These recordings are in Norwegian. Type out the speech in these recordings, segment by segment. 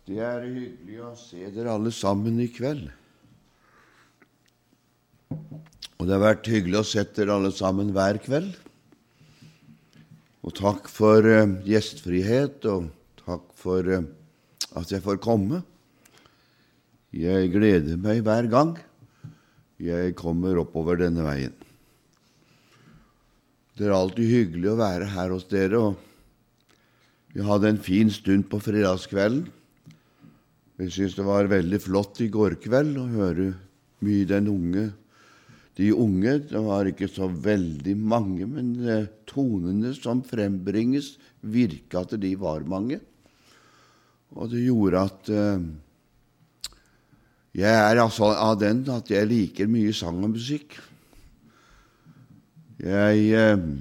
Det hyggelig å se dere alle sammen I kveld. Og det har vært hyggelig å se dere alle sammen hver kveld. Og takk for gjestfrihet, og takk for at jeg får komme. Jeg gleder meg hver gang jeg kommer oppover denne veien. Det alltid hyggelig å være her hos dere, og vi hadde en fin stund på fredagskvelden. Jeg synes det var veldig flott I går kveld å høre mye de unge, det var ikke så veldig mange, men tonene som frembringes virket at de var mange. Og det gjorde at jeg altså av den at jeg liker mye sang og musikk. Jeg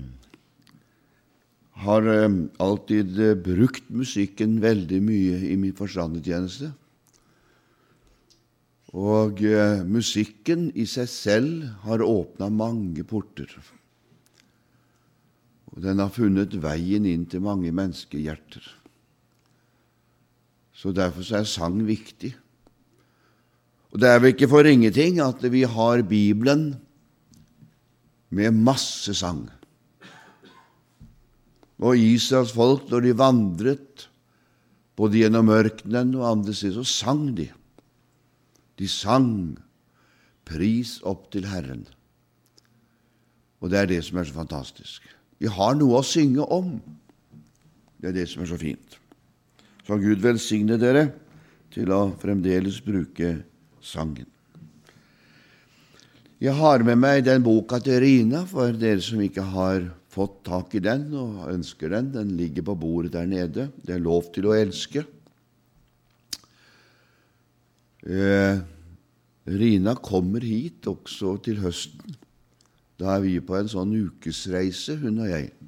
har alltid brukt musikken veldig mye I min forstandetjeneste. Og musikken I seg selv har åpnet mange porter. Og den har funnet veien inn til mange menneskehjerter. Så derfor så sang viktig. Og det vel ikke for ingenting at vi har Bibelen med masse sang. Og Israels folk, når de vandret, både gjennom ørkenen og andre steder, så sang de. De sang pris opp til Herren. Og det det som så fantastisk. Vi har noe å synge om. Det det som så fint. Så Gud velsigne dere til å fremdeles bruke sangen. Jeg har med meg den boka til Rina, for dere som ikke har fått tak I den og ønsker den. Den ligger på bordet der nede. Det lov til å elske. Rina kommer hit også til høsten. Da vi på en sånn ukesreise, hun og jeg.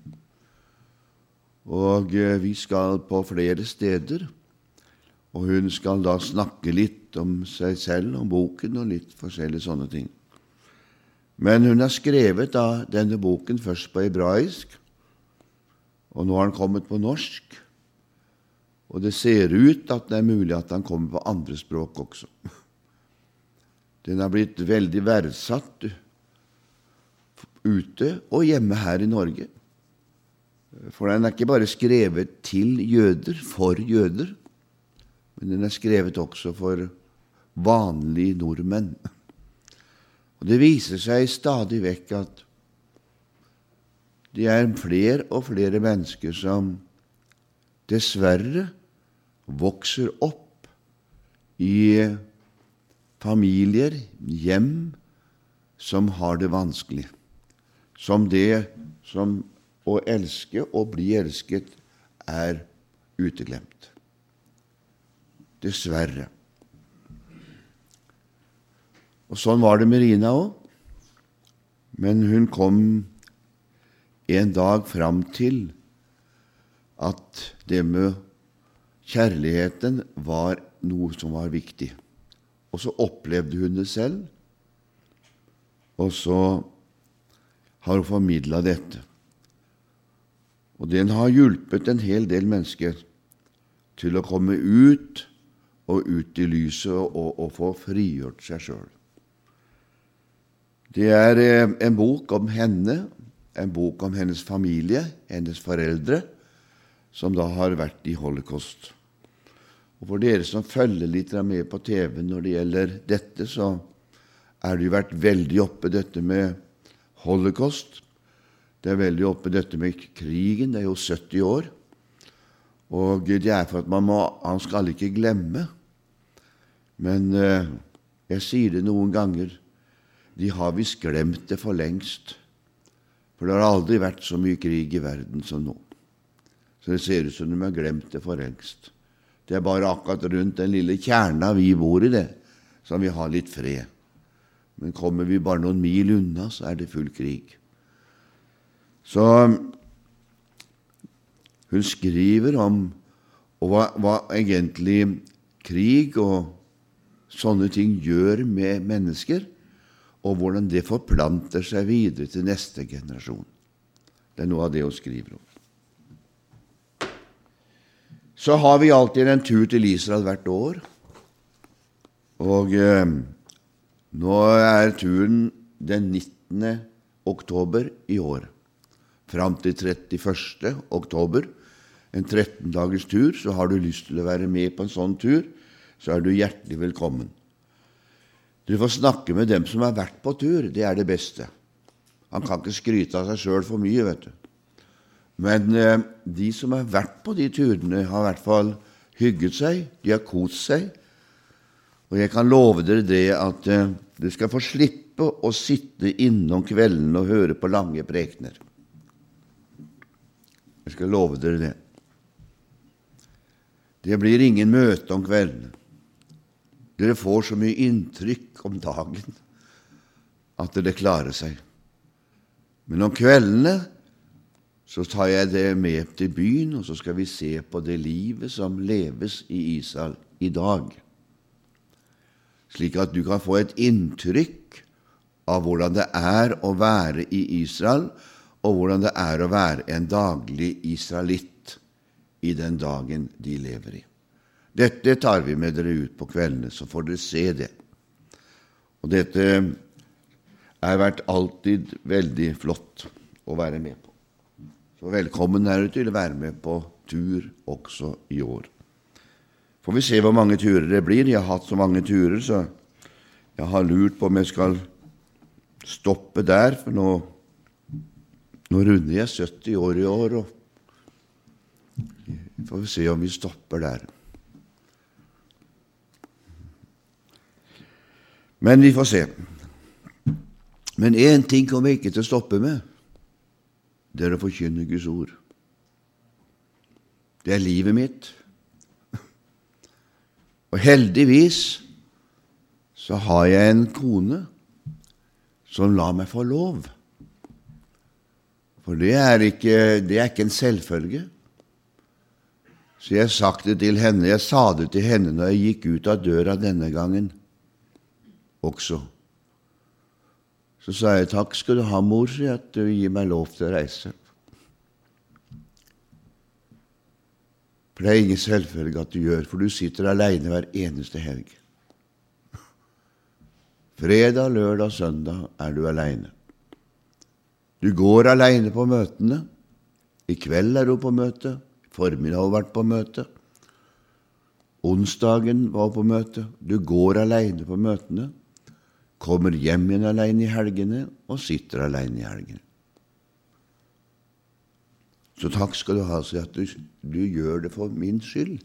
Og vi skal på flere steder, og hun skal da snakke litt om seg selv, om boken og litt forskjellige sånne ting. Men hun har skrevet da denne boken først på hebraisk, og nå har den kommet på norsk, og det ser ut at det mulig at den kommer på andre språk også. Den har blitt veldig verdsatt ute og hjemme her I Norge. For den ikke bare skrevet til jøder, for jøder, men den skrevet også for vanlige nordmenn. Og det viser seg stadig vekk at det flere og flere mennesker som dessverre vokser opp I familier, hjem, som har det vanskelig. Som å elske og bli elsket uteglemt. Dessverre. Og sånn var det med Rina også. Men hun kom en dag fram til at det med kjærligheten var noe som var viktig. Og så opplevde hun det selv, og så har hun formidlet dette. Og den har hjulpet en hel del mennesker til å komme ut I lyset og få frigjort seg selv. Det en bok om henne, en bok om hennes familie, hennes foreldre, som da har vært I holocaust. Og for dere som følger litt med på TV når det gjelder dette, så det jo vært veldig oppe dette med holocaust. Det veldig oppe dette med krigen, det jo 70 år. Og det for at man skal ikke glemme. Men jeg sier det noen ganger, de har visst glemt det for lengst. For det har aldri vært så mye krig I verden som nå. Så det ser ut som de har glemt det for lengst. Det bare akkurat rundt den lille kjerna vi bor I det, som vi har litt fred. Men kommer vi bare noen mil unna, så det full krig. Så hun skriver om hva egentlig krig og sånne ting gjør med mennesker, og hvordan det forplanter seg videre til neste generasjon. Det noe av det hun skriver om. Så har vi alltid en tur til Israel hvert år, og nå er turen den 19. oktober i år, fram til 31. oktober, en 13 dagers tur. Så har du lyst til å være med på en sånn tur, så er du hjertelig velkommen. Du får snakke med dem som har vært på tur, det er det beste. Han kan ikke skryte av seg selv for mye, vet du. Men de som har vært på de turene har i hvert fall hygget seg, de har kost seg, og jeg kan love dere det at du skal få slippe å sitte innom kvelden og høre på lange prekener. Jeg skal love dere det. Det blir ingen møte om kvelden. Dere får så mye inntrykk om dagen at det klarer seg. Men om kveldene så tar jeg det med til byen, og så skal vi se på det livet som leves i Israel i dag, slik at du kan få et inntrykk av hvordan det er å være i Israel, og hvordan det er å være en daglig israelitt i den dagen de lever i. Dette tar vi med dere ut på kveldene, så får dere se det. Og dette har vært alltid veldig flott å være med på. Så velkommen er du til å være med på tur også i år. Får vi se hvor mange turer det blir. Jeg har hatt så mange turer, så jeg har lurt på om jeg skal stoppe der, for nå runder jeg 70 år i år, og får vi se om vi stopper der. Men vi får se. Men en ting kommer jeg ikke til å stoppe med. Det er å forkynne Guds ord. Det er livet mitt. Og heldigvis så har jeg en kone som lar meg få lov. For det er ikke en selvfølge. Så jeg har sagt det til henne, jeg sa det til henne når jeg gikk ut av døra denne gangen også. Så sa jeg, takk skal du ha, mor, så at du gir meg lov til å reise. For det er ingen selvfølge at du gjør, for du sitter alene hver eneste helg. Fredag, lørdag, søndag er du alene. Du går alene på møtene. I kveld er du på møte. Formiddag har du vært på møte. Onsdagen var på møte. Du går alene på møtene. Kommer hjem igjen alene i helgene, og sitter alene i helgene. Så takk skal du ha, så at du gjør det for min skyld.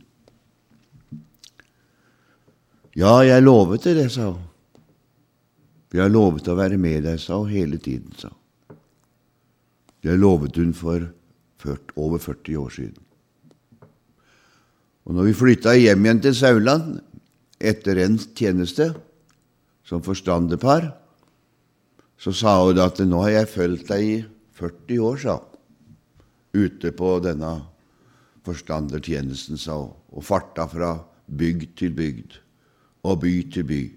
Ja, jeg lovet det, sa hun. Vi har lovet å være med deg, sa hun, hele tiden, sa hun. Det lovet hun for over 40 år siden. Og når vi flyttet hjem igjen til Sauland, etter en tjeneste, som forstanderpar, så sa hun at nå har jeg følt deg i 40 år, sa hun, ute på denne forstandertjenesten, sa hun, og farta fra bygd til bygd, og by til by.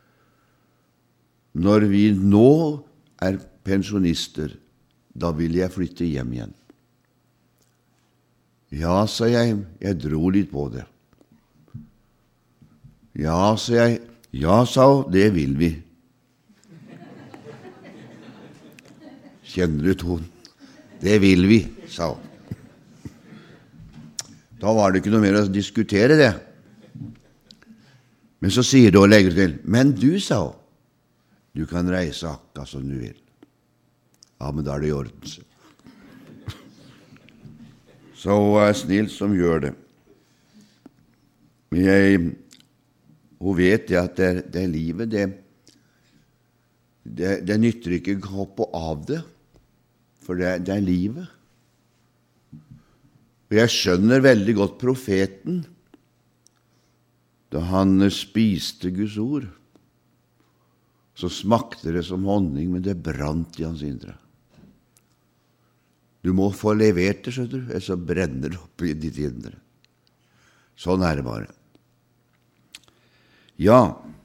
Når vi nå er pensjonister, da vil jeg flytte hjem igjen. Ja, sa jeg dro litt på det. Ja, sa jeg, ja, sa hun, det vil vi. Kjenner du tonen? Det vil vi, sa hun. Da var det ikke noe mer å diskutere det. Men så sier du og legger til, men du, sa hun, du kan reise akkurat som du vil. Ja, men da er det i orden. Så hun er snill som gjør det. Men hun vet at det livet, det nytter ikke å hoppe av det, for det er livet. Og jeg skjønner veldig godt profeten, da han spiste Guds ord, så smakte det som honning, men det brant i hans indre. Du må få levert det, skjønner du, så brenner det opp i ditt indre. Sånn er det bare. Ja,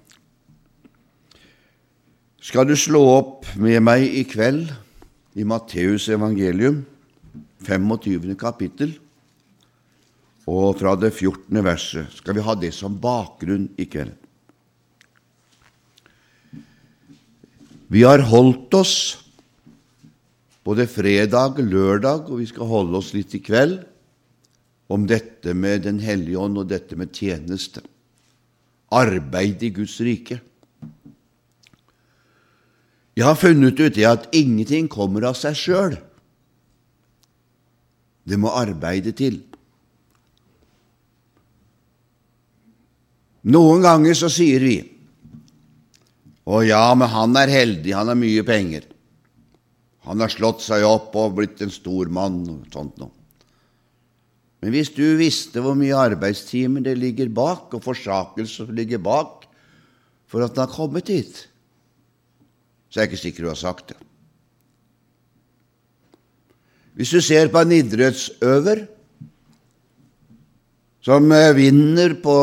skal du slå opp med meg i kveld i Matteus evangelium, 25. kapittel, og fra det 14. verset. Skal vi ha det som bakgrunn i kveld? Vi har holdt oss både fredag, lørdag, og vi skal holde oss litt i kveld om dette med Den hellige ånd og dette med tjeneste. Arbeid i Guds rike. Jeg har funnet ut det at ingenting kommer av seg selv. Det må arbeide til. Noen ganger så sier vi, å ja, men han er heldig, han har mye penger. Han har slått seg opp og blitt en stor mann og sånt noe. Men hvis du visste hvor mye arbeidstimer det ligger bak, og forsakelse som ligger bak, for at han har kommet hit, så er jeg ikke sikker du har sagt det. Hvis du ser på en idrettsøver som vinner på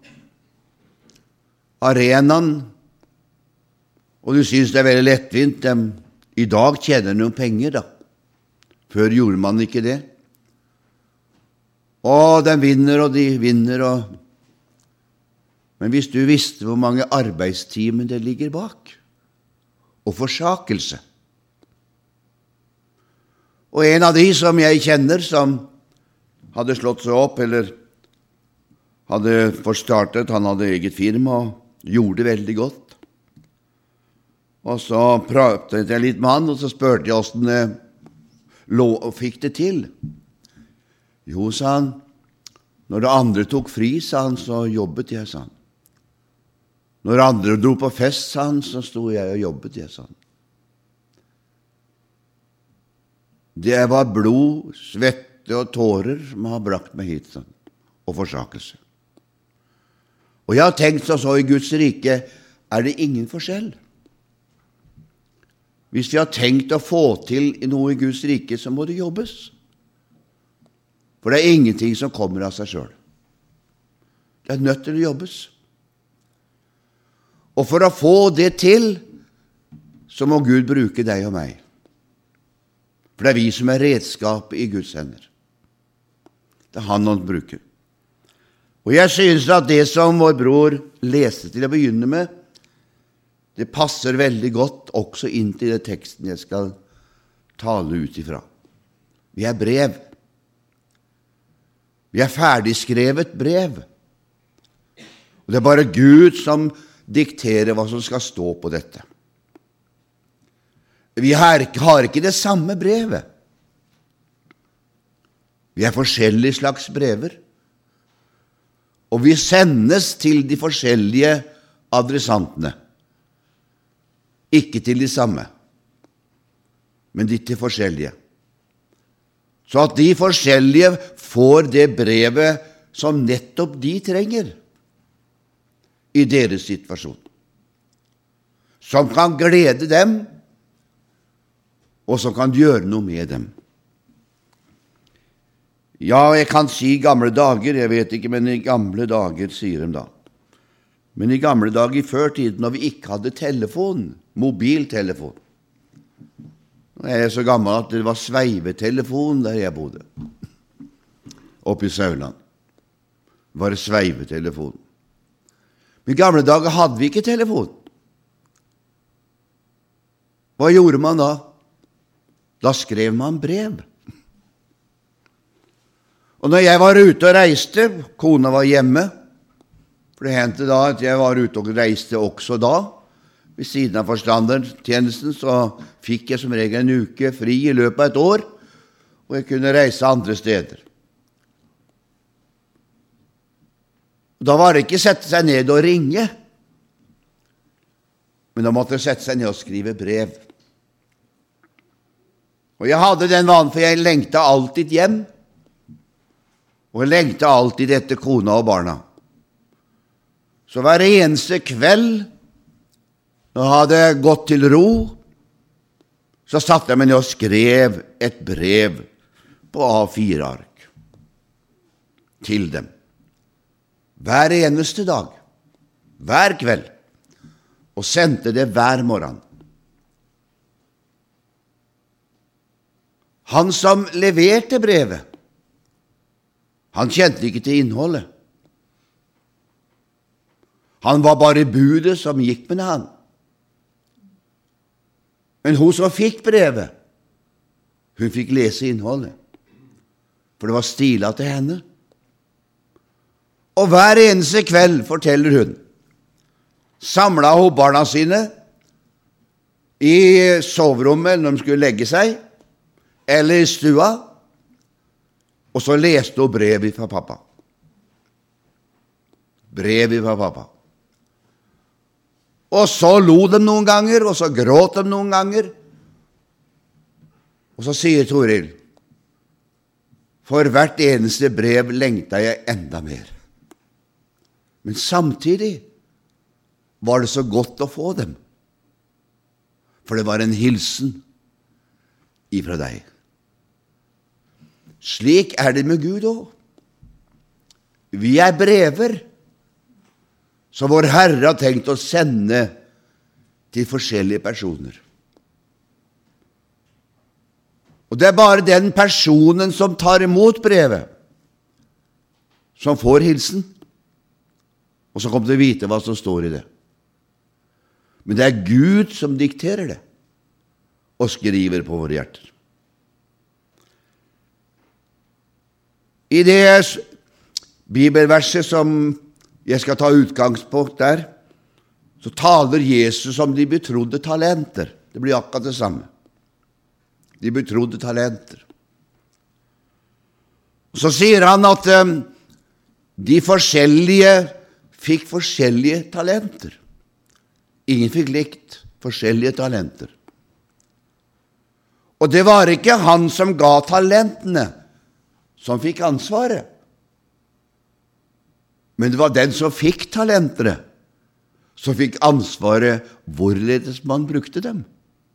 arenaen, og du synes det er veldig lettvint, i dag tjener noen penger da. Før gjorde man ikke det. Og de vinner, Men hvis du visste hvor mange arbeidstimer det ligger bak, og forsakelse. Og en av de som jeg kjenner, som hadde slått seg opp, eller hadde forstartet, han hadde eget firma, og gjorde det veldig godt. Og så pratet jeg litt med han, og så spørte jeg hvordan det fikk det til. Jo, sa han, når det andre tok fri, sa han, så jobbet jeg, sa han. Når andre dro på fest, sa han, så sto jeg og jobbet jeg, sa han. Det var blod, svette og tårer som har brakt meg hit, sa han, og forsakelse. Og jeg har tenkt så i Guds rike, er det ingen forskjell. Hvis vi har tenkt å få til noe i Guds rike, så må det jobbes. For det er ingenting som kommer av seg selv. Det er nødt til å jobbes. Og for å få det til, så må Gud bruke deg og meg. For det er vi som er redskapet i Guds hender. Det er han bruker. Og jeg synes at det som vår bror leste til å begynne med, det passer veldig godt også inn til det teksten jeg skal tale ut ifra. Vi er brev. Vi er ferdigskrevet brev. Og det er bare Gud som dikterer hva som skal stå på dette. Vi har ikke det samme brevet. Vi er forskjellige slags brever. Og vi sendes til de forskjellige adressantene. Ikke til de samme, men de til forskjellige. Så at de forskjellige får det brevet som nettopp de trenger i deres situasjon. Som kan glede dem, og som kan gjøre noe med dem. Ja, jeg kan si gamle dager, jeg vet ikke, men i gamle dager sier de da. Men i gamle dager, i før tiden, når vi ikke hadde telefon, mobiltelefon. Nå er jeg så gammel at det var sveivetelefon der jeg bodde. Oppe i Sauland. Var det sveivetelefon. Men i gamle dager hadde vi ikke telefon. Hva gjorde man da? Da skrev man brev. Og når jeg var ute og reiste, kona var hjemme, for det hendte da at jeg var ute og reiste også da, ved siden av forstandertjenesten, så fikk jeg som regel en uke fri i løpet av et år, og jeg kunne reise andre steder. Da var det ikke sette seg ned og ringe, men da måtte jeg sette seg ned og skrive brev. Og jeg hadde den vanen, for jeg lengtet alltid hjem, og jeg lengtet alltid etter kona og barna. Så hver eneste kveld, når jeg hadde gått til ro, så satte jeg meg ned og skrev et brev på A4-ark til dem. Hver eneste dag, hver kveld, og sendte det hver morgen. Han som leverte brevet, Han kjente ikke til innholdet. Han var bare budet som gikk med han. Men hun som fikk brevet, hun fikk lese innholdet, for det var stilet til henne. Og hver eneste kveld, forteller hun, samlet hun barna sine i soverommet når de skulle legge seg, eller i stua, og så leste hun brevet fra pappa. Brevet fra pappa. Og så lo de noen ganger, og så gråt de noen ganger. Og så sier Toril, for hvert eneste brev lengta jeg enda mer. Men samtidig var det så godt å få dem, for det var en hilsen ifra deg. Slik er det med Gud også. Vi er brever som vår Herre har tenkt å sende til forskjellige personer. Og det er bare den personen som tar imot brevet, som får hilsen, og så kommer til å vite hva som står i det. Men det er Gud som dikterer det, og skriver på våre hjerter. I det bibelverset som jeg skal ta utgangspunkt der, så taler Jesus om de betrodde talenter. Det blir akkurat det samme. De betrodde talenter. Så sier han at de forskjellige fikk forskjellige talenter. Ingen fikk likt forskjellige talenter. Og det var ikke han som ga talentene, som fikk ansvaret. Men det var den som fikk talentene, som fikk ansvaret hvorledes man brukte dem.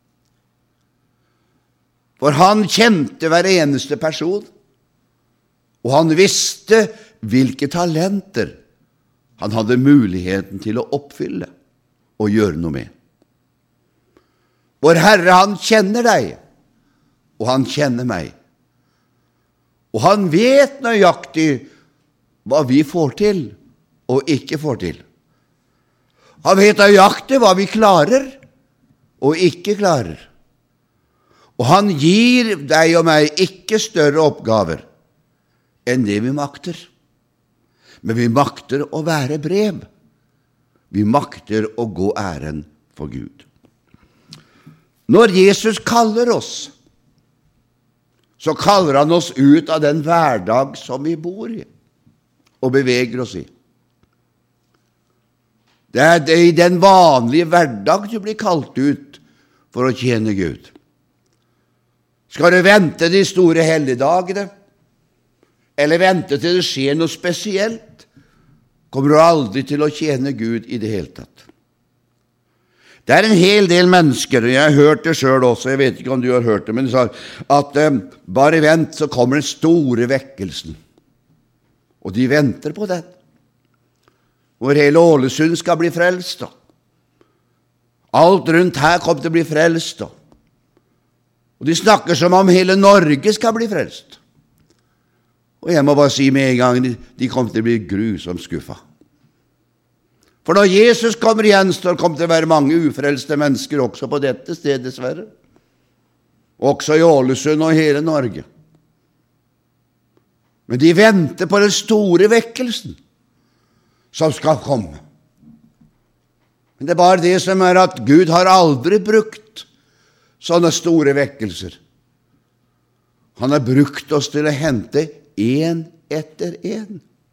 For han kjente hver eneste person, og han visste hvilke talenter han hadde muligheten til å oppfylle og gjøre noe med. Vår Herre, han kjenner deg, og han kjenner meg. Og han vet nøyaktig hva vi får til og ikke får til. Han vet nøyaktig hva vi klarer og ikke klarer. Og han gir deg og meg ikke større oppgaver enn det vi makter. Men vi makter å være brev. Vi makter å gå æren for Gud. Når Jesus kaller oss, så kaller han oss ut av den hverdag som vi bor i og beveger oss i. Det er i den vanlige hverdag du blir kalt ut for å tjene Gud. Skal du vente de store helligdagene, eller vente til det skjer noe spesielt, kommer du aldri til å tjene Gud i det hele tatt. Det er en hel del mennesker, og jeg har hørt det selv også, jeg vet ikke om du har hørt det, men de sa at bare vent, så kommer den store vekkelsen. Og de venter på den. Hvor hele Ålesund skal bli frelst. Alt rundt her kommer til å bli frelst. Og de snakker som om hele Norge skal bli frelst. Og jeg må bare si med en gang, de kommer til å bli grusomt skuffet. For når Jesus kommer igjen, så kommer det til å være mange ufrelste mennesker også på dette stedet, dessverre. Også i Ålesund og hele Norge. Men de venter på den store vekkelsen som skal komme. Men det er bare det som er at Gud har aldri brukt sånne store vekkelser. Han har brukt oss til å hente en etter en.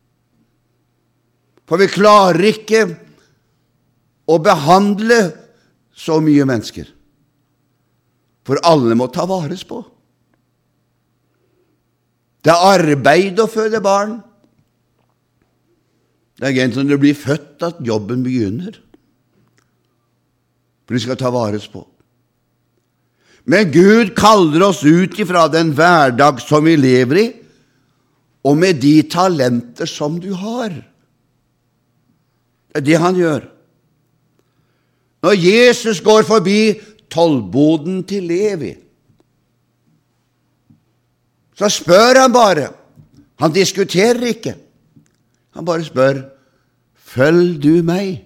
For vi klarer ikke å behandle så mye mennesker. For alle må ta vares på. Det er arbeid å føde barn. Det er egentlig når du blir født at jobben begynner. For de skal ta vares på. Men Gud kaller oss ut ifra den hverdag som vi lever i, og med de talenter som du har. Det er det han gjør. Når Jesus går forbi tollboden til Levi, så spør han bare, Han diskuterer ikke. Han bare spør, følg du meg?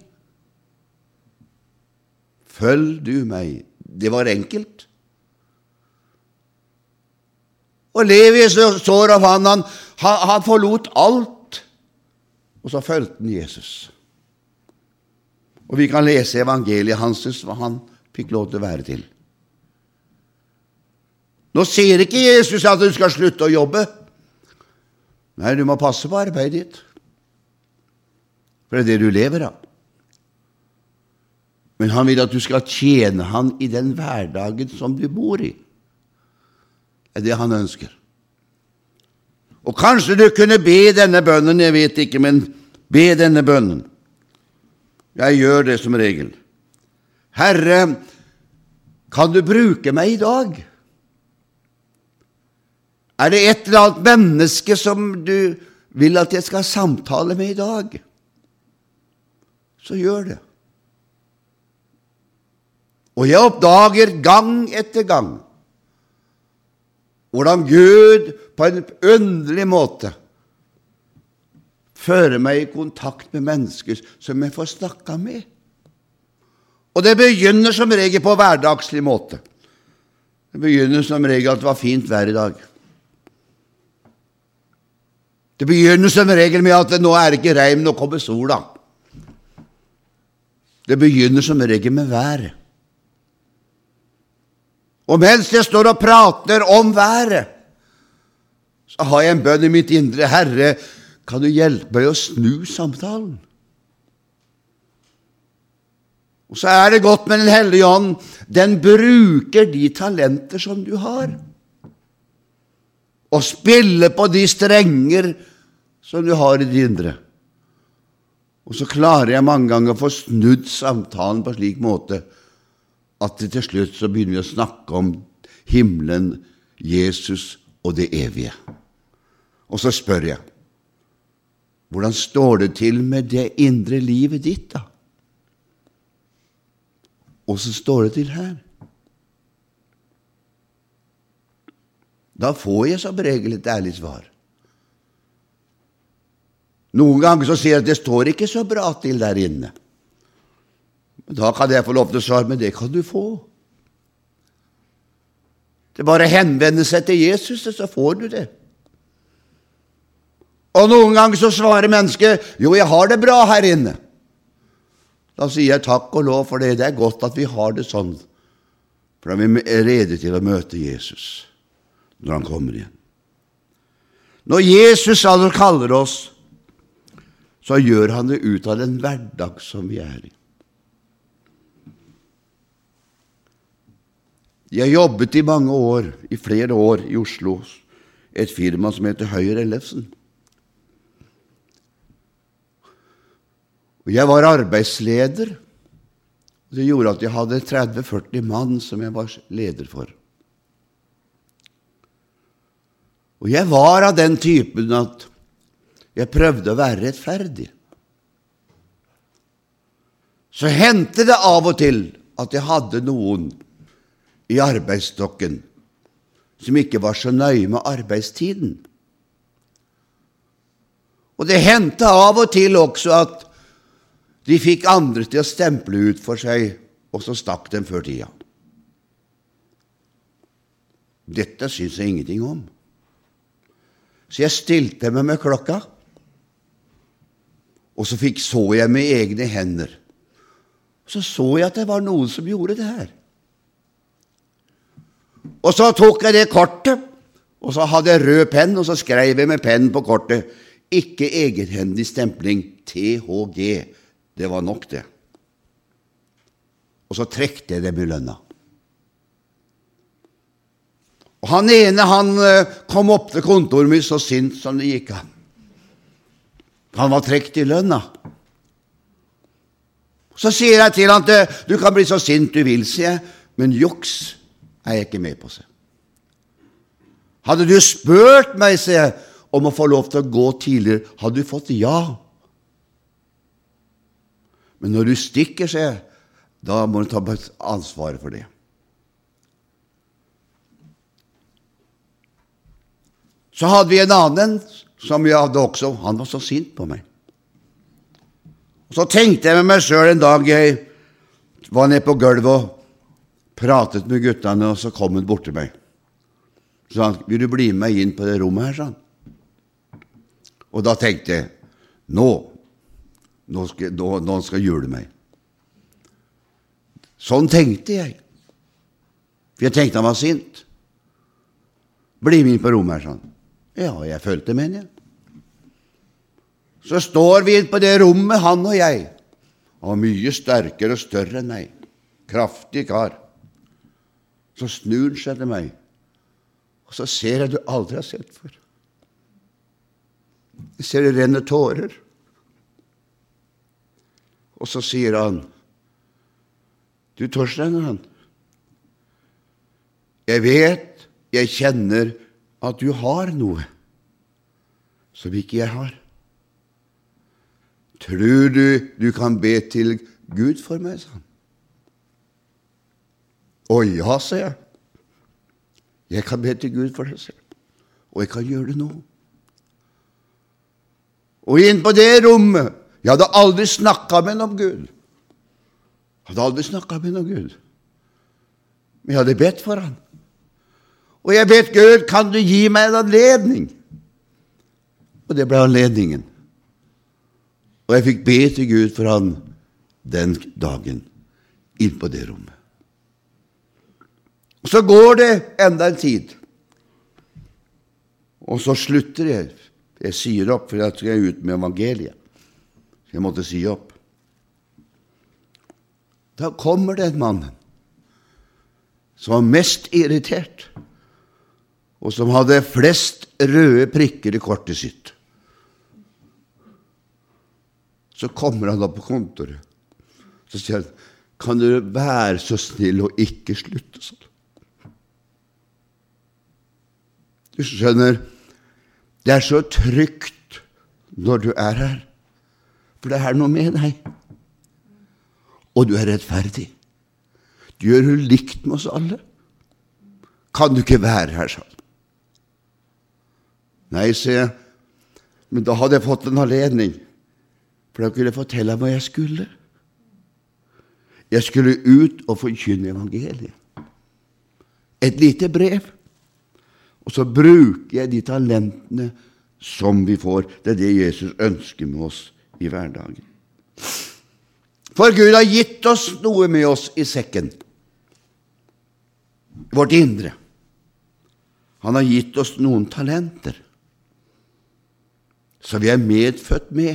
Følg du meg? Det var enkelt. Og Levi står av han forlot alt, og så følte han Jesus. Og vi kan lese evangeliet hans, hva han fikk lov til å være til. Nå sier ikke Jesus at du skal slutte å jobbe. Nei, du må passe på arbeidet ditt. For det er det du lever av. Men han vil at du skal tjene han i den hverdagen som du bor i. Det er det han ønsker. Og kanskje du kunne be denne bønnen, jeg vet ikke, men be denne bønnen. Jeg gjør det som regel. Herre, kan du bruke meg i dag? Er det et eller annet menneske som du vil at jeg skal samtale med i dag? Så gjør det. Og jeg oppdager gang etter gang hvordan Gud på en underlig måte fører meg i kontakt med mennesker som jeg får snakke med. Og det begynner som regel på hverdagslig måte. Det begynner som regel at det var fint vær i dag. Det begynner som regel med at nå er det ikke regn, nå kommer sola. Det begynner som regel med været. Og mens jeg står og prater om været, så har jeg en bønn i mitt indre. Herre, kan du hjelpe meg å snu samtalen? Og så er det godt med Den hellige ånd. Den bruker de talenter som du har. Og spiller på de strenger som du har i det indre. Og så klarer jeg mange ganger å få snudd samtalen på slik måte at det til slutt så begynner vi å snakke om himmelen, Jesus og det evige. Og så spør jeg, hvordan står det til med det indre livet ditt da? Og så står det til her. Da får jeg som regel et ærlig svar. Noen ganger så sier jeg at det står ikke så bra til der inne. Da kan jeg få lov til å svare, men det kan du få. Det er bare å henvende seg til Jesus, så får du det. Og noen ganger så svarer mennesket, jo, jeg har det bra her inne. Da sier jeg takk og lov for det. Det er godt at vi har det sånn. For da er vi rede til å møte Jesus når han kommer igjen. Når Jesus altså kaller oss, så gjør han det ut av den hverdag som vi er i. Jeg jobbet i mange år, i flere år i Oslo, et firma som heter Høyer Ellefsen. Og jeg var arbeidsleder. Det gjorde at jeg hadde 30-40 mann som jeg var leder for. Og jeg var av den typen at jeg prøvde å være rettferdig. Så hendte det av og til at jeg hadde noen i arbeidsstokken som ikke var så nøye med arbeidstiden. Og det hendte av og til også at de fikk andre til å stemple ut for seg, og så stakk dem før tida. Dette synes jeg ingenting om. Så jeg stilte meg med klokka, og så så jeg med egne hender. Så jeg at det var noen som gjorde det her. Og så tok jeg det kortet, og så hadde jeg rød penn, og så skrev jeg med pennen på kortet, ikke egenhendig stempling, THG. Det var nok det. Og så trekte jeg dem i lønna. Og han ene, han kom opp til kontoret mitt så sint som det gikk an. Han var trekt i lønna. Så sier jeg til han, du kan bli så sint du vil, sier jeg, men juks er jeg ikke med på seg. Hadde du spurt meg, sier jeg, om å få lov til å gå tidligere, hadde du fått ja. Men når du stikker, sier jeg, da må du ta ansvaret for det. Så hadde vi en annen som jeg hadde også. Han var så sint på meg. Og så tenkte jeg med meg selv en dag jeg var nede på gulvet og pratet med guttene, og så kom han bort til meg. Så sa han, vil du bli med inn på det rommet her, sa han. Og da tenkte jeg, nå skal jule meg. Sånn tenkte jeg. For jeg tenkte han var sint. Bli med inn på rommet her, sa han. Ja, jeg følte med han, Så står vi inn på det rommet, han og jeg. Han var mye sterkere og større enn meg. Kraftig kar. Så snur han seg til meg, og så ser jeg du aldri har sett før. Jeg ser det renner tårer. Og så sier han, du Torstein, jeg vet, jeg kjenner at du har noe som ikke jeg har. Tror du kan be til Gud for meg, sa han. Å ja, sa jeg. Jeg kan be til Gud for deg selv, og jeg kan gjøre det nå. Og inn på det rommet, jeg hadde aldri snakket med noen om Gud. Men jeg hadde bedt for han. Og jeg bedt Gud, kan du gi meg en anledning? Og det ble anledningen. Og jeg fikk be til Gud for han den dagen, inn på det rommet. Og så går det enda en tid. Og så slutter jeg. Jeg sier opp, for jeg skal ut med evangeliet. Så jeg måtte si opp. Da kommer det en mann som var mest irritert, og som hadde flest røde prikker i kortet sitt. Så kommer han opp på kontoret. Så sier han, kan du være så snill og ikke slutte sånn? Du skjønner, det er så trygt når du er her, for det er noe med deg. Og du er rettferdig. Du gjør jo likt med oss alle. Kan du ikke være her, sånn? Nei, sier jeg, men da hadde jeg fått en anledning, for da kunne jeg fortelle hva jeg skulle. Jeg skulle ut og forkynne evangeliet. Et lite brev. Og så bruker jeg de talentene som vi får. Det er det Jesus ønsker med oss i hverdagen. For Gud har gitt oss noe med oss i sekken. Vårt indre. Han har gitt oss noen talenter. Så vi er medfødt med.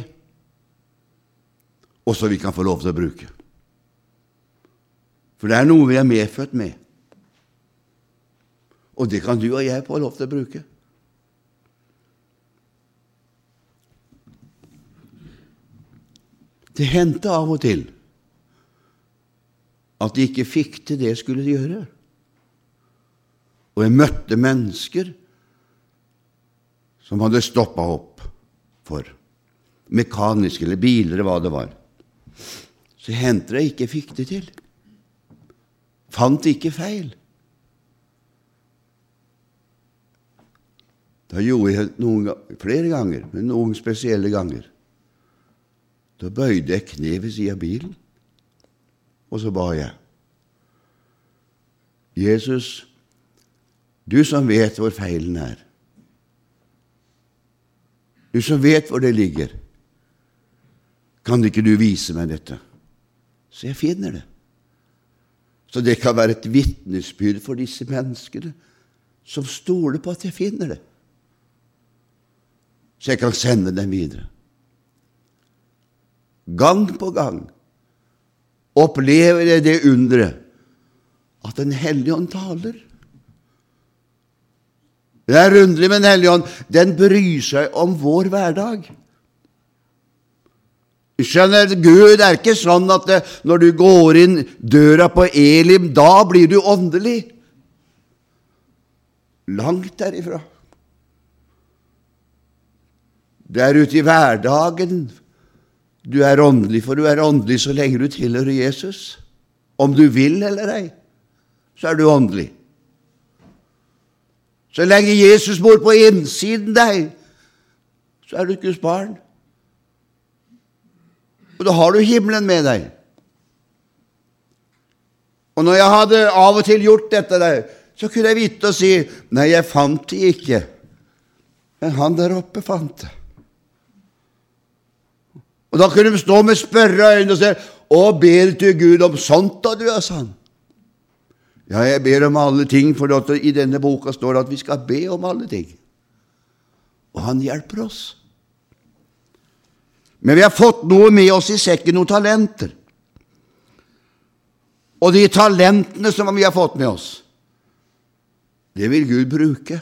Og så vi kan få lov til å bruke. For det er noe vi er medfødt med. Og det kan du og jeg få lov til å bruke. Det hendte av og til at de ikke fikk til det skulle de gjøre. Og jeg møtte mennesker som hadde stoppet opp for mekaniske eller biler eller hva det var. Så hendte det ikke fikk det til. Fant ikke feil. Da gjorde jeg flere ganger, men noen spesielle ganger. Da bøyde jeg kne ved siden av bilen, og så ba jeg. Jesus, du som vet hvor feilen er. Du som vet hvor det ligger. Kan ikke du vise meg dette? Så jeg finner det. Så det kan være et vitnesbyrd for disse menneskene som stoler på at jeg finner det. Så jeg kan sende dem videre. Gang på gang opplever jeg det undre at Den Hellige Ånd taler. Det er underlig, men Den Hellige Ånd, den bryr seg om vår hverdag. Skjønner, Gud er ikke sånn at når du går inn døra på Elim, da blir du åndelig. Langt derifra. Det er ute i hverdagen du er åndelig, for du er åndelig så lenge du tilhører Jesus. Om du vil eller ei, så er du åndelig. Så lenge Jesus bor på innsiden deg, så er du Guds barn. Og da har du himmelen med deg. Og når jeg hadde av og til gjort dette der, så kunne jeg vite og si, nei, jeg fant det ikke. Men han der oppe fant det. Og da kunne de stå med spørreøyne og si, «Å, ber til Gud om sånt da, du er sann?» Ja, jeg ber om alle ting, for i denne boka står det at vi skal be om alle ting. Og han hjelper oss. Men vi har fått noe med oss i sekken, noen talenter. Og de talentene som vi har fått med oss, det vil Gud bruke.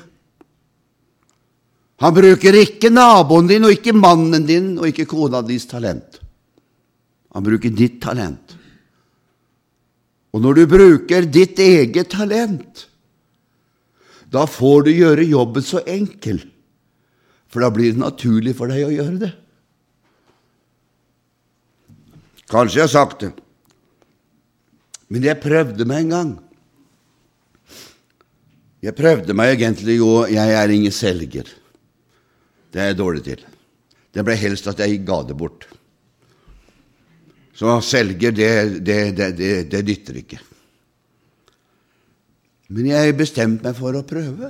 Han bruker ikke naboen din, og ikke mannen din, og ikke kona dins talent. Han bruker ditt talent. Og når du bruker ditt eget talent, da får du gjøre jobben så enkel, for da blir det naturlig for deg å gjøre det. Kanskje jeg har sagt det, men jeg prøvde meg en gang. Jeg prøvde meg egentlig jo, jeg er ingen selger. Det er jeg dårlig til. Det ble helst at jeg ga det bort. Så selger, det dytter ikke. Men jeg bestemte meg for å prøve.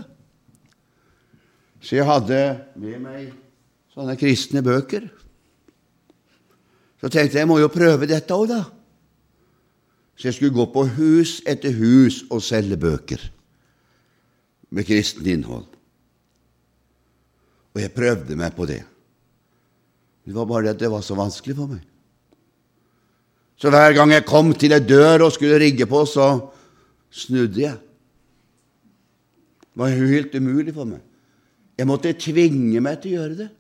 Så jeg hadde med meg sånne kristne bøker. Så tenkte jeg må jo prøve dette også da. Så jeg skulle gå på hus etter hus og selge bøker med kristen innhold. Og jeg prøvde meg på det. Det var bare det at det var så vanskelig for meg. Så hver gang jeg kom til en dør og skulle rigge på, så snudde jeg. Det var helt umulig for meg. Jeg måtte tvinge meg til å gjøre det.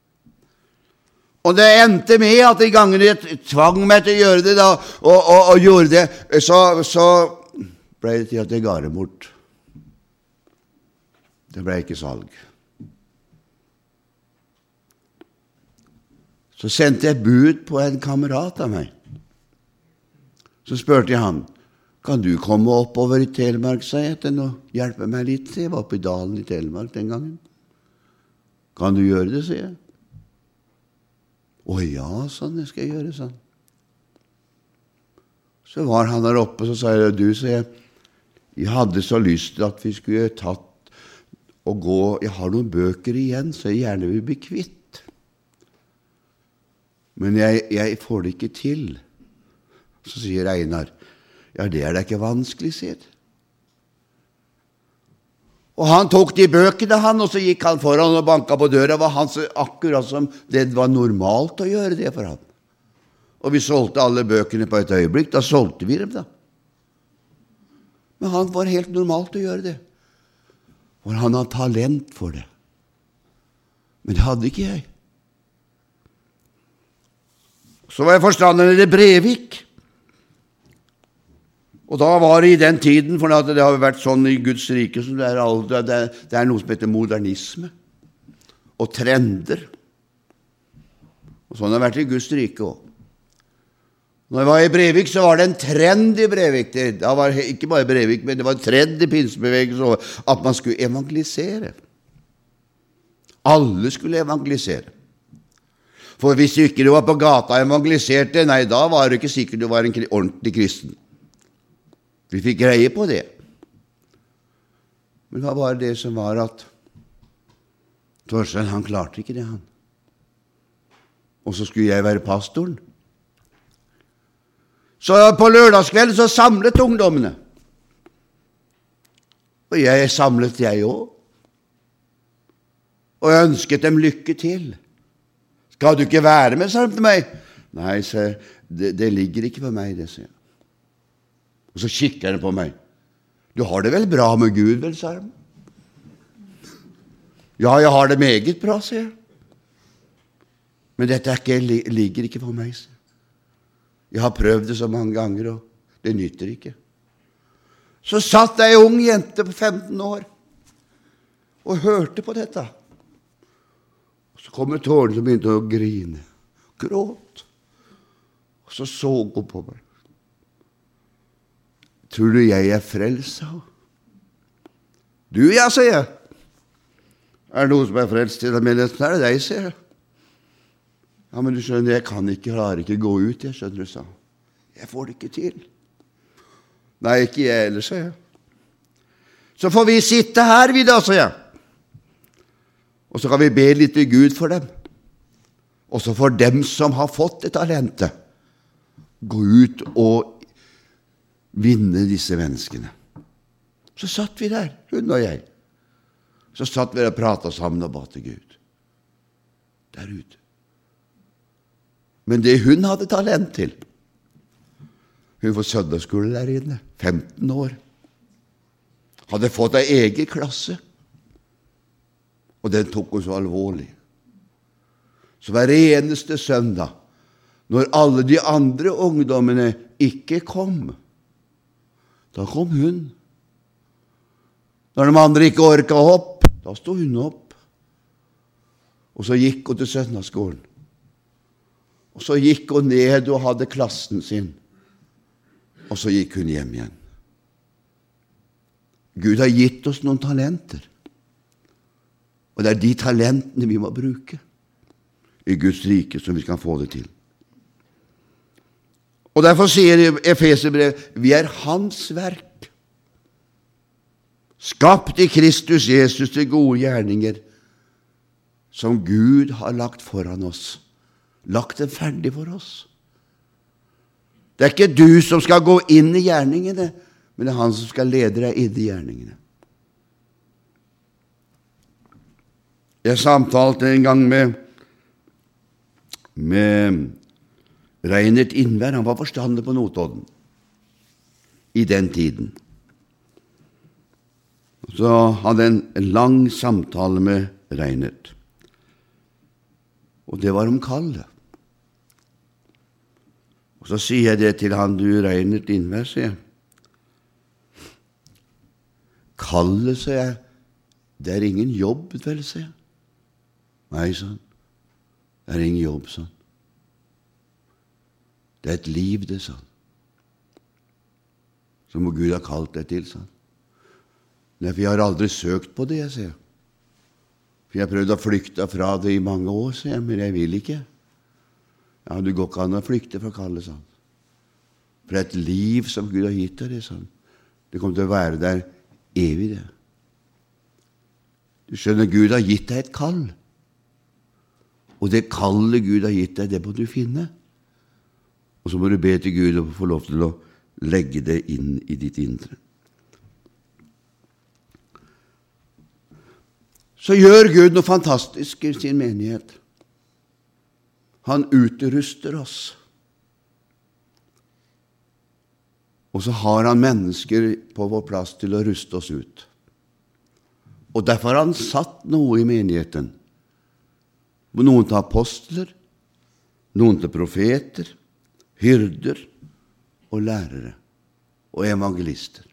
Og det endte med at de gangene jeg tvang meg til å gjøre det da, og gjorde det, så ble det til at jeg ga det bort. Det ble ikke salg. Så sendte jeg bud på en kamerat av meg. Så spurte jeg han, kan du komme oppover i Telemark, sa jeg, til å hjelpe meg litt? Jeg var oppe i dalen i Telemark den gangen. Kan du gjøre det, sier jeg. Å ja, sånn, det skal jeg gjøre, sånn. Så var han der oppe, så sa jeg, du, sa jeg hadde så lyst til at vi skulle tatt og gå, jeg har noen bøker igjen, så jeg gjerne vil bli kvitt. Men jeg får det ikke til. Så sier Einar, ja, det er da ikke vanskelig, sier det. Og han tok de bøkene, og så gikk han foran og banket på døra. Var han så akkurat som det var normalt å gjøre det for han. Og vi solgte alle bøkene på et øyeblikk. Da solgte vi dem da. Men han var helt normalt å gjøre det. For han har talent for det. Men det hadde ikke jeg. Så var jeg forstanderen i Brevik. Og da var det i den tiden, for det har vært sånn i Guds rike, som det er noe som heter modernisme, og trender. Og sånn har det vært i Guds rike også. Når jeg var i Brevik, så var det en trend i Brevik. Det var ikke bare Brevik, men det var en trend i pinsebevegelsen at man skulle evangelisere. Alle skulle evangelisere. For hvis du ikke var på gata og evangeliserte, nei, da var det ikke sikkert du var en ordentlig kristen. Vi fikk greie på det. Men det var bare det som var at Torstein, han klarte ikke det, han. Og så skulle jeg være pastoren. Så på lørdagskvelden så samlet ungdommene. Og jeg samlet jeg også. Og jeg ønsket dem lykke til. Skal du ikke være med, sa de til meg. Nei, det ligger ikke på meg, det, sier jeg. Og så kikker han på meg. Du har det vel bra med Gud, vel, sa han. Ja, jeg har det meget bra, sier jeg. Men dette ligger ikke på meg, sier jeg. Jeg har prøvd det så mange ganger, og det nytter ikke. Så satt ei ung jente på 15 år og hørte på dette. Og så kom tårene som begynte å grine. Gråt. Og så hun på meg. Tror du jeg er frelst, sa hun? Du, ja, sier jeg. Er det noen som er frelst til den menigheten? Er det deg, sier jeg. Ja, men du skjønner, jeg klarer ikke gå ut, jeg skjønner du, sa. Jeg får det ikke til. Nei, ikke jeg ellers, sa jeg. Så får vi sitte her, vi da, sa jeg. Og så kan vi be litt til Gud for dem. Og så får dem som har fått det talentet, gå ut og vinne disse menneskene. Så satt vi der, hun og jeg. Så satt vi der og pratet sammen og ba til Gud. Der ute. Men det hun hadde talent til, hun får søndagsskole der inne, 15 år. Hadde fått en egen klasse. Og den tok hun så alvorlig. Så hver eneste søndag, når alle de andre ungdommene ikke kom, da kom hun. Når de andre ikke orket opp, da stod hun opp. Og så gikk hun til søndagsskolen. Og så gikk hun ned og hadde klassen sin. Og så gikk hun hjem igjen. Gud har gitt oss noen talenter. Og det er de talentene vi må bruke i Guds rike, så vi kan få det til. Og derfor sier Efeserbrevet, vi er hans verk, skapt i Kristus Jesus til gode gjerninger, som Gud har lagt foran oss, lagt det ferdig for oss. Det er ikke du som skal gå inn i gjerningene, men det er han som skal lede deg inn i gjerningene. Jeg samtalte en gang med Reinert Innvær. Han var forstander på Notodden i den tiden. Så hadde jeg en lang samtale med Reinert. Og det var om kallet. Og så sier jeg det til han, du Reinert Innvær, sier jeg. Kallet, sier jeg, det er ingen jobb, vel, sier jeg. Nei, sånn. Det er ingen jobb, sånn. Det er et liv, det, sånn. Som Gud har kalt deg til, sånn. Nei, for jeg har aldri søkt på det, jeg sier. For jeg har prøvd å flykte fra det i mange år, sier jeg, men jeg vil ikke. Ja, du går ikke an å flykte fra kallet, sånn. For det er et liv som Gud har gitt deg, det, sånn. Det kommer til å være der evig, det. Du skjønner, Gud har gitt deg et kall. Og det kallet Gud har gitt deg, det må du finne. Og så må du be til Gud og få lov til å legge det inn i ditt indre. Så gjør Gud noe fantastisk i sin menighet. Han utruster oss. Og så har han mennesker på vår plass til å ruste oss ut. Og derfor har han satt noe i menigheten. Noen til apostler, noen til profeter, hyrder og lærere og evangelister.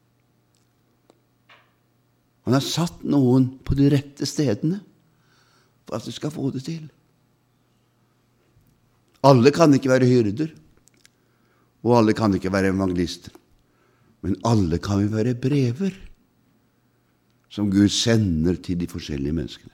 Han har satt noen på de rette stedene for at du skal få det til. Alle kan ikke være hyrder, og alle kan ikke være evangelister. Men alle kan vi være brever som Gud sender til de forskjellige menneskene.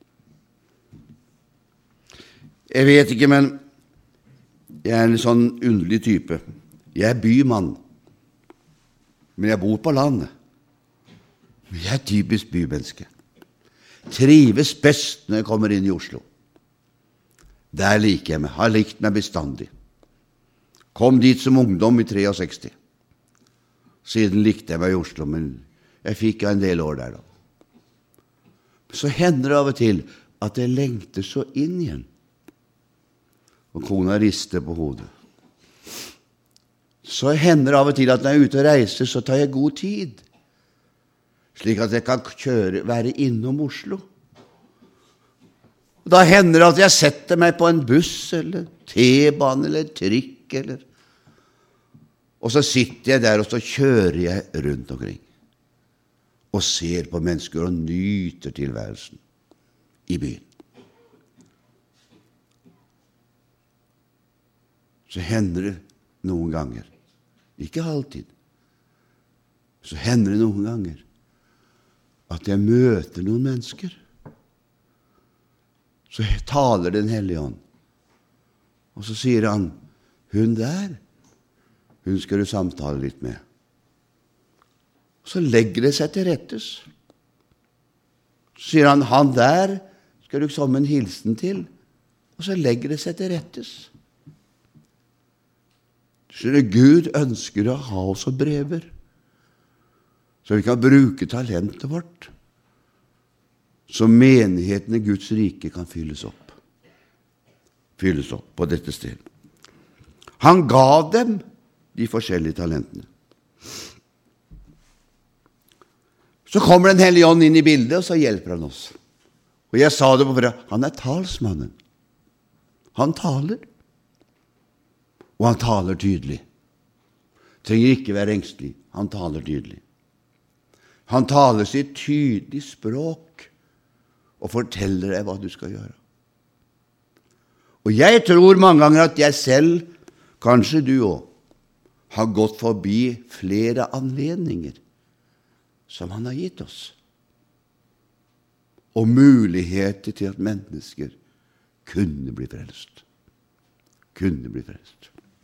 Jeg vet ikke, men jeg er en sånn underlig type. Jeg er bymann, men jeg bor på landet. Jeg er typisk bymenneske. Trives best når jeg kommer inn i Oslo. Der liker jeg meg, har likt meg bestandig. Kom dit som ungdom i 63. Siden likte jeg meg i Oslo, men jeg fikk en del år der da. Så hender det av og til at jeg lengter så inn igjen. Og kona rister på hodet. Så hender det av og til at når jeg er ute og reiser, så tar jeg god tid, slik at jeg kan være innom Oslo. Og da hender det at jeg setter meg på en buss, eller T-bane, eller trikk, og så sitter jeg der, og så kjører jeg rundt omkring, og ser på mennesker og nyter tilværelsen i byen. Så hender det noen ganger, ikke alltid, så hender det noen ganger at jeg møter noen mennesker. Så taler Den hellige ånd, Og så sier han, hun der, hun skal du samtale litt med. Så legger det seg til rettes. Så sier han der skal du komme en hilsen til, og så legger det seg til rettes. Så Gud ønsker å ha oss som brever, så vi kan bruke talentet vårt, så menigheten i Guds rike kan fylles opp på dette stedet. Han gav dem de forskjellige talentene. Så kommer Den Hellige Ånd inn i bildet, og så hjelper han oss. Og jeg sa det på fredag, han er talsmannen. Han taler. Og han taler tydelig. Trenger ikke være engstelig. Han taler tydelig. Han taler sitt tydelig språk og forteller deg hva du skal gjøre. Og jeg tror mange ganger at jeg selv, kanskje du også, har gått forbi flere anledninger som han har gitt oss, og muligheter til at mennesker kunne bli frelst. Kunne bli frelst.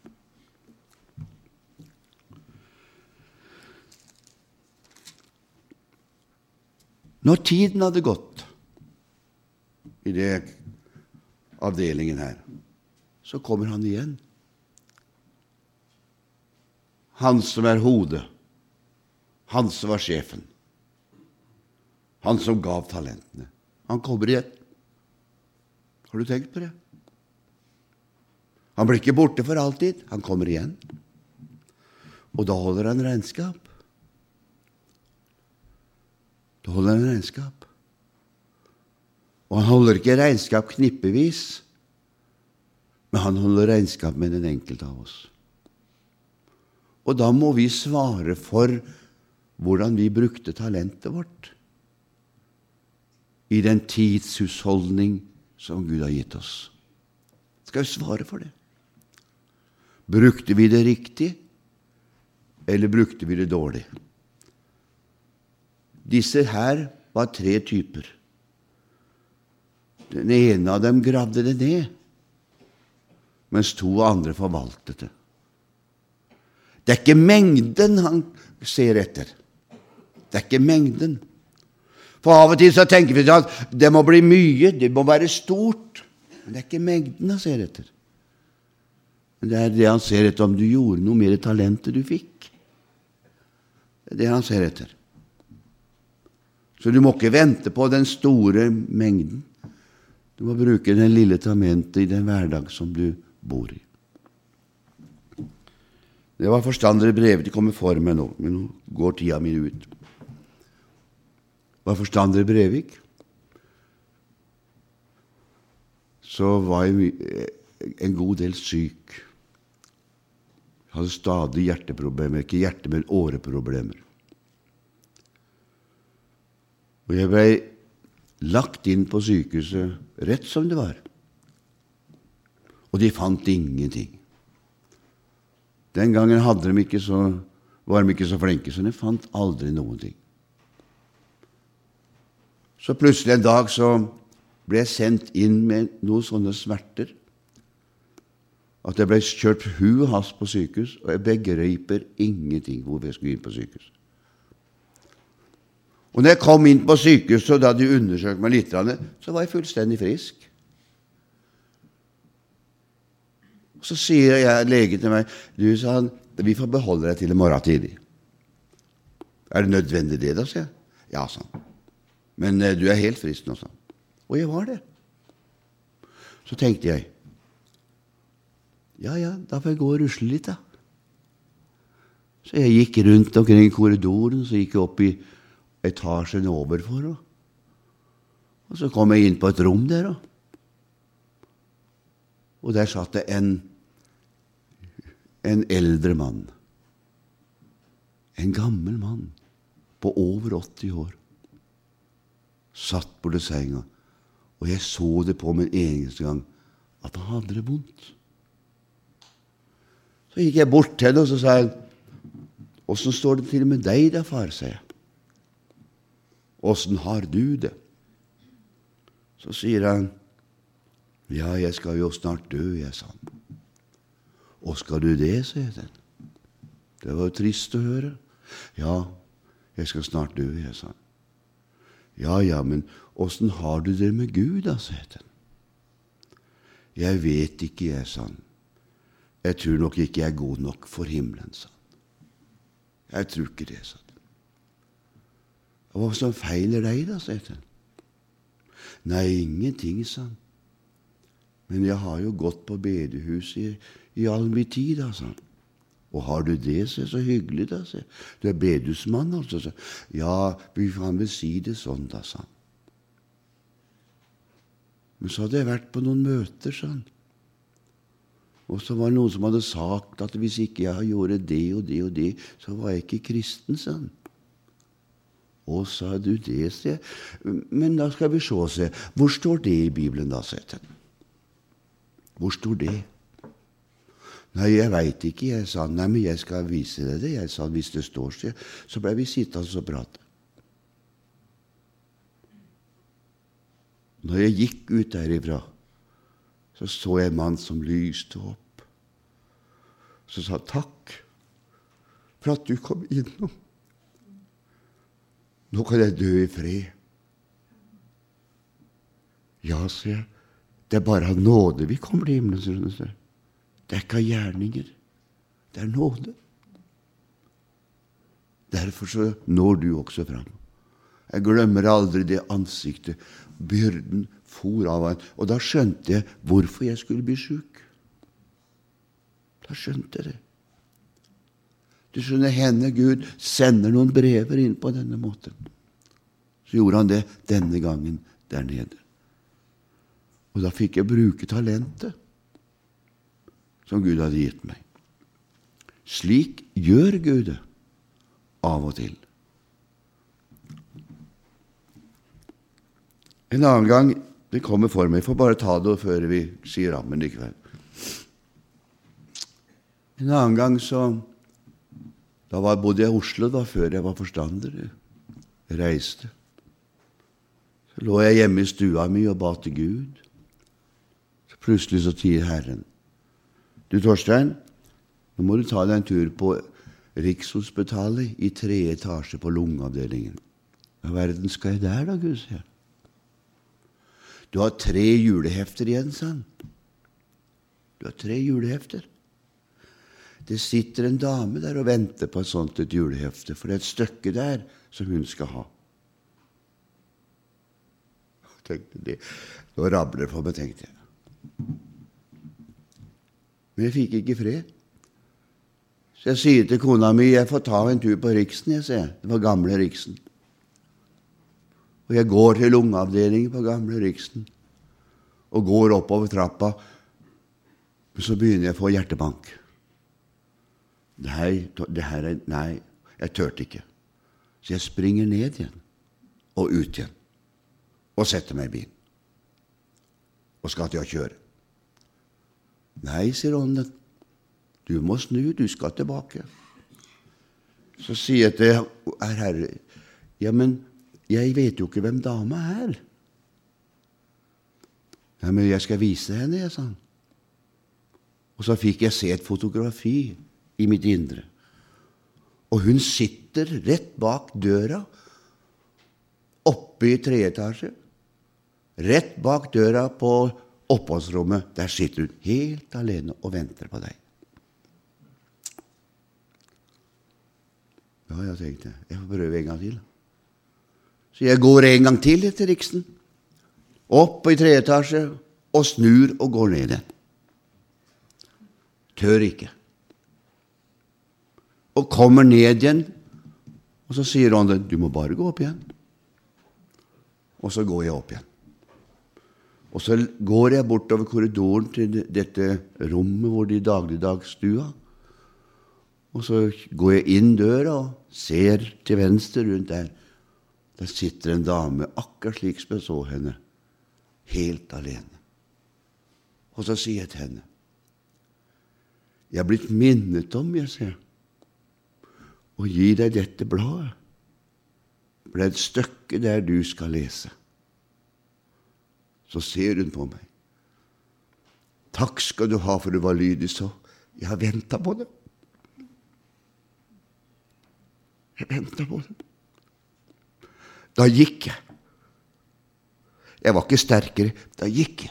Når tiden hadde gått i det avdelingen her, så kommer han igjen. Han som er hodet, han som var sjefen, han som gav talentene. Han kommer igjen. Har du tenkt på det? Han blir ikke borte for alltid, han kommer igjen. Og da holder han regnskap. Da holder han regnskap. Og han holder ikke regnskap knippevis, men han holder regnskap med den enkelte av oss. Og da må vi svare for hvordan vi brukte talentet vårt i den tidshusholdning som Gud har gitt oss. Skal vi svare for det? Brukte vi det riktig, eller brukte vi det dårlig? Disse her var 3 typer. Den ene av dem gravde det ned, mens 2 andre forvaltet det. Det er ikke mengden han ser etter. Det er ikke mengden. For av og til så tenker vi at det må bli mye, det må være stort. Men det er ikke mengden han ser etter. Men det er det han ser etter, om du gjorde noe mer talenter du fikk. Det er det han ser etter. Så du må ikke vente på den store mengden. Du må bruke den lille tamentet i den hverdag som du bor i. Det var forstandere brevet, de kommer for meg nå, men nå går tida min ut. Var forstandere Brevik, så var jeg en god del syk. Jeg hadde stadig hjerteproblemer, ikke hjerte, men åreproblemer. Og jeg ble lagt inn på sykehuset rett som det var. Og de fant ingenting. Den gangen var de ikke så flinke, så de fant aldri noen ting. Så plutselig en dag så ble jeg sendt inn med noen sånne smerter, at jeg ble kjørt hu og hast på sykehus, og jeg begriper ingenting hvor jeg skulle inn på sykehus. Og når jeg kom inn på sykehuset, og da de undersøkte meg litt, så var jeg fullstendig frisk. Så sier legen til meg, du, sa han, vi får beholde deg til i morgen tidlig. Er det nødvendig det da, sier jeg? Ja, sa han. Men du er helt frisk nå, sa han. Og jeg var det. Så tenkte jeg, ja, da får jeg gå og rusle litt da. Så jeg gikk rundt omkring korridoren, så gikk jeg opp i etasjen overfor, og så kom jeg inn på et rom der, og der satt det en eldre mann, en gammel mann på over 80 år, satt på det senga, og jeg så det på min eneste gang at han hadde det vondt. Så gikk jeg bort til det, og så sa jeg, hvordan står det til med deg da, far, sa jeg. Hvordan har du det? Så sier han, ja, jeg skal jo snart dø, jeg, sa han. «Og skal du det?» sier den. Det var jo trist å høre. «Ja, jeg skal snart dø», jeg sa. Ja, men hvordan har du det med Gud da?» sier den. «Jeg vet ikke», jeg sa. «Jeg tror nok ikke jeg er god nok for himmelen», sa han. «Jeg tror ikke det», sa den. «Hva som feiler deg da?» sier den. «Nei, ingenting», sa han. «Men jeg har jo gått på bedehus i all min tid», da, sa han. «Og har du det?» så hyggelig, da, sa. «Du er bedehusmann, altså», sa. «Ja, vi kan vel si det sånn, da», sa han. Men så hadde jeg vært på noen møter, sa han. Og så var det noen som hadde sagt at hvis ikke jeg gjorde det og det og det, så var jeg ikke kristen, sa han. «Å, sa du det?» sa jeg. «Men da skal vi se. Hvor står det i Bibelen da?» sa jeg. «Hvor står det?» «Nei, jeg vet ikke», jeg sa. «Nei, men jeg skal vise deg det», jeg sa. «Hvis det står», så ble vi sittende og prate. Når jeg gikk ut derifra, så jeg en mann som lyste opp. Så sa «Takk for at du kom innom. Nå kan jeg dø i fred». «Ja», sa jeg, «det er bare av nåde vi kommer til himmelen», sa jeg. «Det er ikke av gjerninger, det er nåde. Derfor så når du også fram. Jeg glemmer aldri det ansiktet. Byrden for av han. Og da skjønte jeg hvorfor jeg skulle bli syk. Da skjønte jeg det. Du skjønner, henne Gud sender noen brever inn på denne måten. Så gjorde han det denne gangen der nede. Og da fikk jeg bruke talentet som Gud hadde gitt meg. Slik gjør Gud det av og til. En annen gang, det kommer for meg, jeg får bare ta det før vi sier amen i kveld. En annen gang da bodde jeg i Oslo da, før jeg var forstander. Jeg reiste. Så lå jeg hjemme i stua mi og ba til Gud. Så plutselig så sier Herren, «Du Torstein, nå må du ta deg en tur på Rikshospitalet i 3. etasje på lungeavdelingen». Hva verden skal jeg der da, Gud, sier jeg. «Du har 3 julehefter igjen», sa han. «Du har 3 julehefter. Det sitter en dame der og venter på et sånt et julehefte, for det er et stykke der som hun skal ha». Jeg tenkte det. Nå rabler det for meg, tenkte jeg. Men jeg fikk ikke fred. Så jeg sier til kona mi, «Jeg får ta en tur på Riksen», jeg sier. Det var gamle Riksen. Og jeg går til lungeavdelingen på gamle Riksen og går oppover trappa, men så begynner jeg å få hjertebank. Nei, jeg tørte ikke. Så jeg springer ned igjen og ut igjen og setter meg i bilen og skal til å kjøre. «Nei», sier ånden, «du må snu, du skal tilbake». Så sier jeg til Herre, «Ja, men jeg vet jo ikke hvem dama er». «Ja, men jeg skal vise henne», jeg sa. Og så fikk jeg se et fotografi i mitt indre. Og hun sitter rett bak døra, oppe i 3. etasje, rett bak døra på oppholdsrommet. Der sitter hun helt alene og venter på deg. Ja, jeg tenkte, jeg får prøve en gang til. Så jeg går en gang til etter Riksen, opp i 3. etasje, og snur og går ned igjen. Tør ikke. Og kommer ned igjen, og så sier ånden, «Du må bare gå opp igjen». Og så går jeg opp igjen. Og så går jeg bortover korridoren til dette rommet hvor det dagligdagsstua. Og så går jeg inn døra og ser til venstre rundt der. Der sitter en dame, akkurat slik som jeg så henne, helt alene. Og så sier jeg til henne, «Jeg er blitt minnet om», jeg sier, «å gi deg dette bladet. For det er et stykke der du skal lese». Så ser hun på meg. «Takk skal du ha, for du var lydig, så Jeg har ventet på det. Jeg ventet på det. Da gikk jeg. Jeg var ikke sterkere. Da gikk jeg.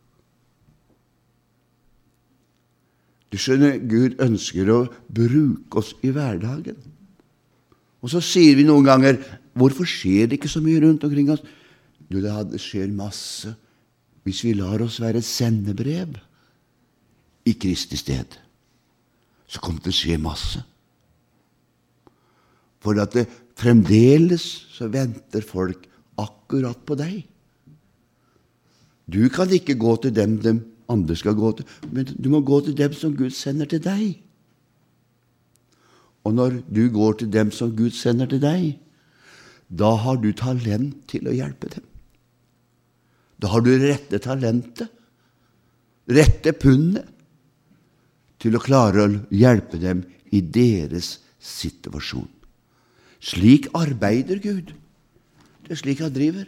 Du skjønner, Gud ønsker å bruke oss i hverdagen. Og så sier vi noen ganger, hvorfor skjer det ikke så mye rundt omkring oss? Jo, det skjer masse hvis vi lar oss være et sendebrev i Kristi sted. Så kommer det til å skje masse. For at det fremdeles så venter folk akkurat på deg. Du kan ikke gå til dem andre skal gå til, men du må gå til dem som Gud sender til deg. Og når du går til dem som Gud sender til deg, da har du talent til å hjelpe dem. Da har du rette talentet, rette pundet, til å klare å hjelpe dem i deres situasjon. Slik arbeider Gud. Det er slik han driver.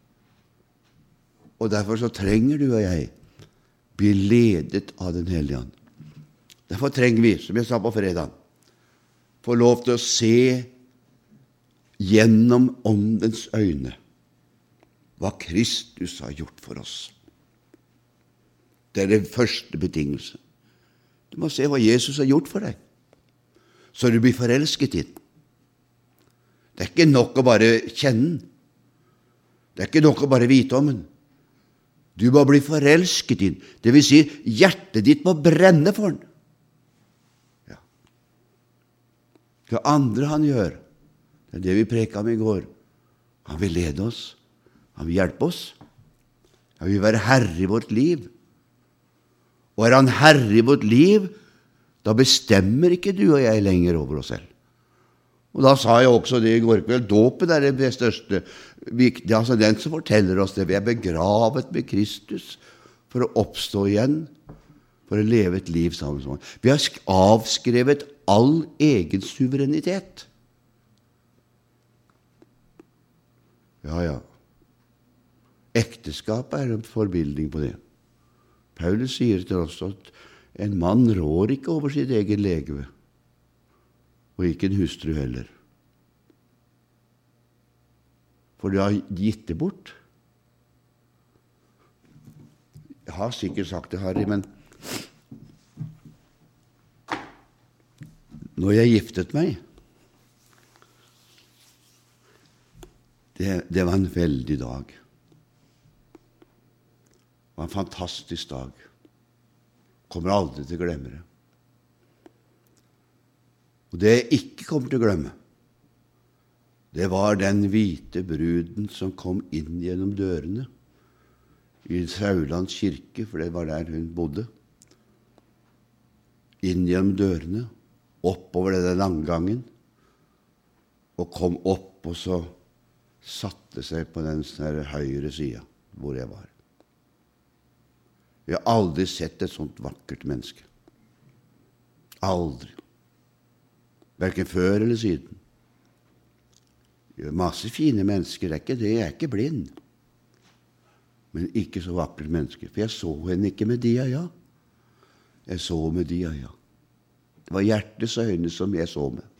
Og derfor så trenger du og jeg bli ledet av den Hellige Ånd. Derfor trenger vi, som jeg sa på fredag, få lov til å se gjennom Åndens øyne hva Kristus har gjort for oss. Det er den første betingelse. Du må se hva Jesus har gjort for deg, så du blir forelsket i den. Det er ikke nok å bare kjenne den. Det er ikke nok å bare vite om den. Du må bli forelsket i den. Det vil si, hjertet ditt må brenne for den. Ja. Det andre han gjør, det er det vi preket om i går. Han vil lede oss. Han vil hjelpe oss. Han vil være herre i vårt liv. Og er han herre i vårt liv, da bestemmer ikke du og jeg lenger over oss selv. Og da sa jeg også det i går kveld, dåpen er det største, viktige, altså den som forteller oss det. Vi er begravet med Kristus for å oppstå igjen, for å leve et liv sammen med ham. Vi har avskrevet all egen suverenitet. Ja. Ekteskapet er en forbildning på det. Paulus sier til oss at en mann rår ikke over sitt eget legeme, og ikke en hustru heller. For du har gitt det bort. Jeg har sikkert sagt det, Harry, men når jeg giftet meg, det var en veldig dag. Det var en fantastisk dag. Kommer aldri til å glemme det. Og det jeg ikke kommer til å glemme, det var den hvite bruden som kom inn gjennom dørene i Saulands kirke, for det var der hun bodde. Inn gjennom dørene, oppover denne langgangen, og kom opp og så satte seg på den høyre siden hvor jeg var. Jeg har aldri sett et sånt vakkert menneske. Aldri. Hverken før eller siden. Det er masse fine mennesker, det er ikke det, jeg er ikke blind. Men ikke så vakkert menneske, for jeg så henne ikke med de øya. Jeg så med de øya. Det var hjertets øyne som jeg så med.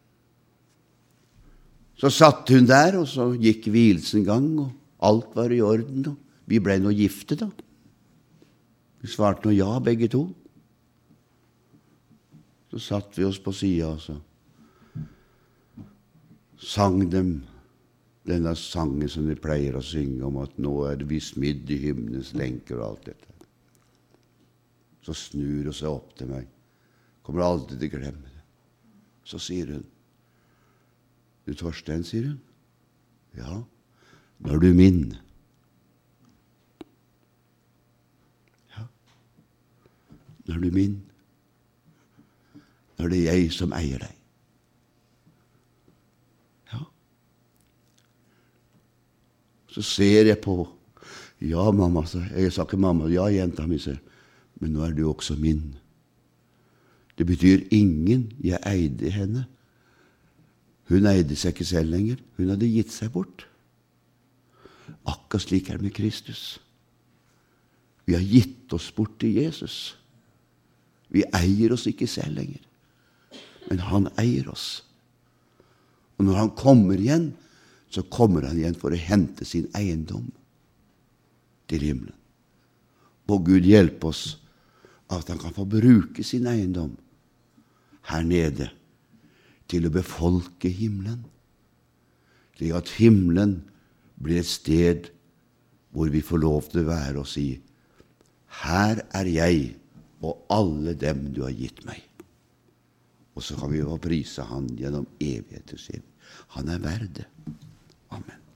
Så satt hun der, og så gikk hvilelsen gang, og alt var i orden, og vi ble nå gifte da. Vi svarte nå ja, begge to. Så satt vi oss på siden, og så sang dem denne sangen som de pleier å synge om at nå er det vi smidd i himmelens lenker og alt dette. Så snur hun seg opp til meg. Kommer aldri til å glemme det. Så sier hun, du Torstein, sier hun. Ja, nå er du min. Ja, nå er du min. Nå er det jeg som eier deg. Ja. Så ser jeg på, ja mamma, jeg sa ikke mamma, ja jenta mi, men nå er du også min. Det betyr ingen, jeg eide henne. Hun eide seg ikke selv lenger, hun hadde gitt seg bort. Akkurat slik er det med Kristus. Vi har gitt oss bort til Jesus. Vi eier oss ikke selv lenger, men han eier oss. Og når han kommer igjen, så kommer han igjen for å hente sin eiendom til himmelen. Og Gud hjelpe oss at han kan få bruke sin eiendom her nede til å befolke himmelen, slik at himmelen blir et sted hvor vi får lov til å være og si: her er jeg og alle dem du har gitt meg. Og så kan vi jo prise han gjennom evigheters evig. Han er verd det. Amen.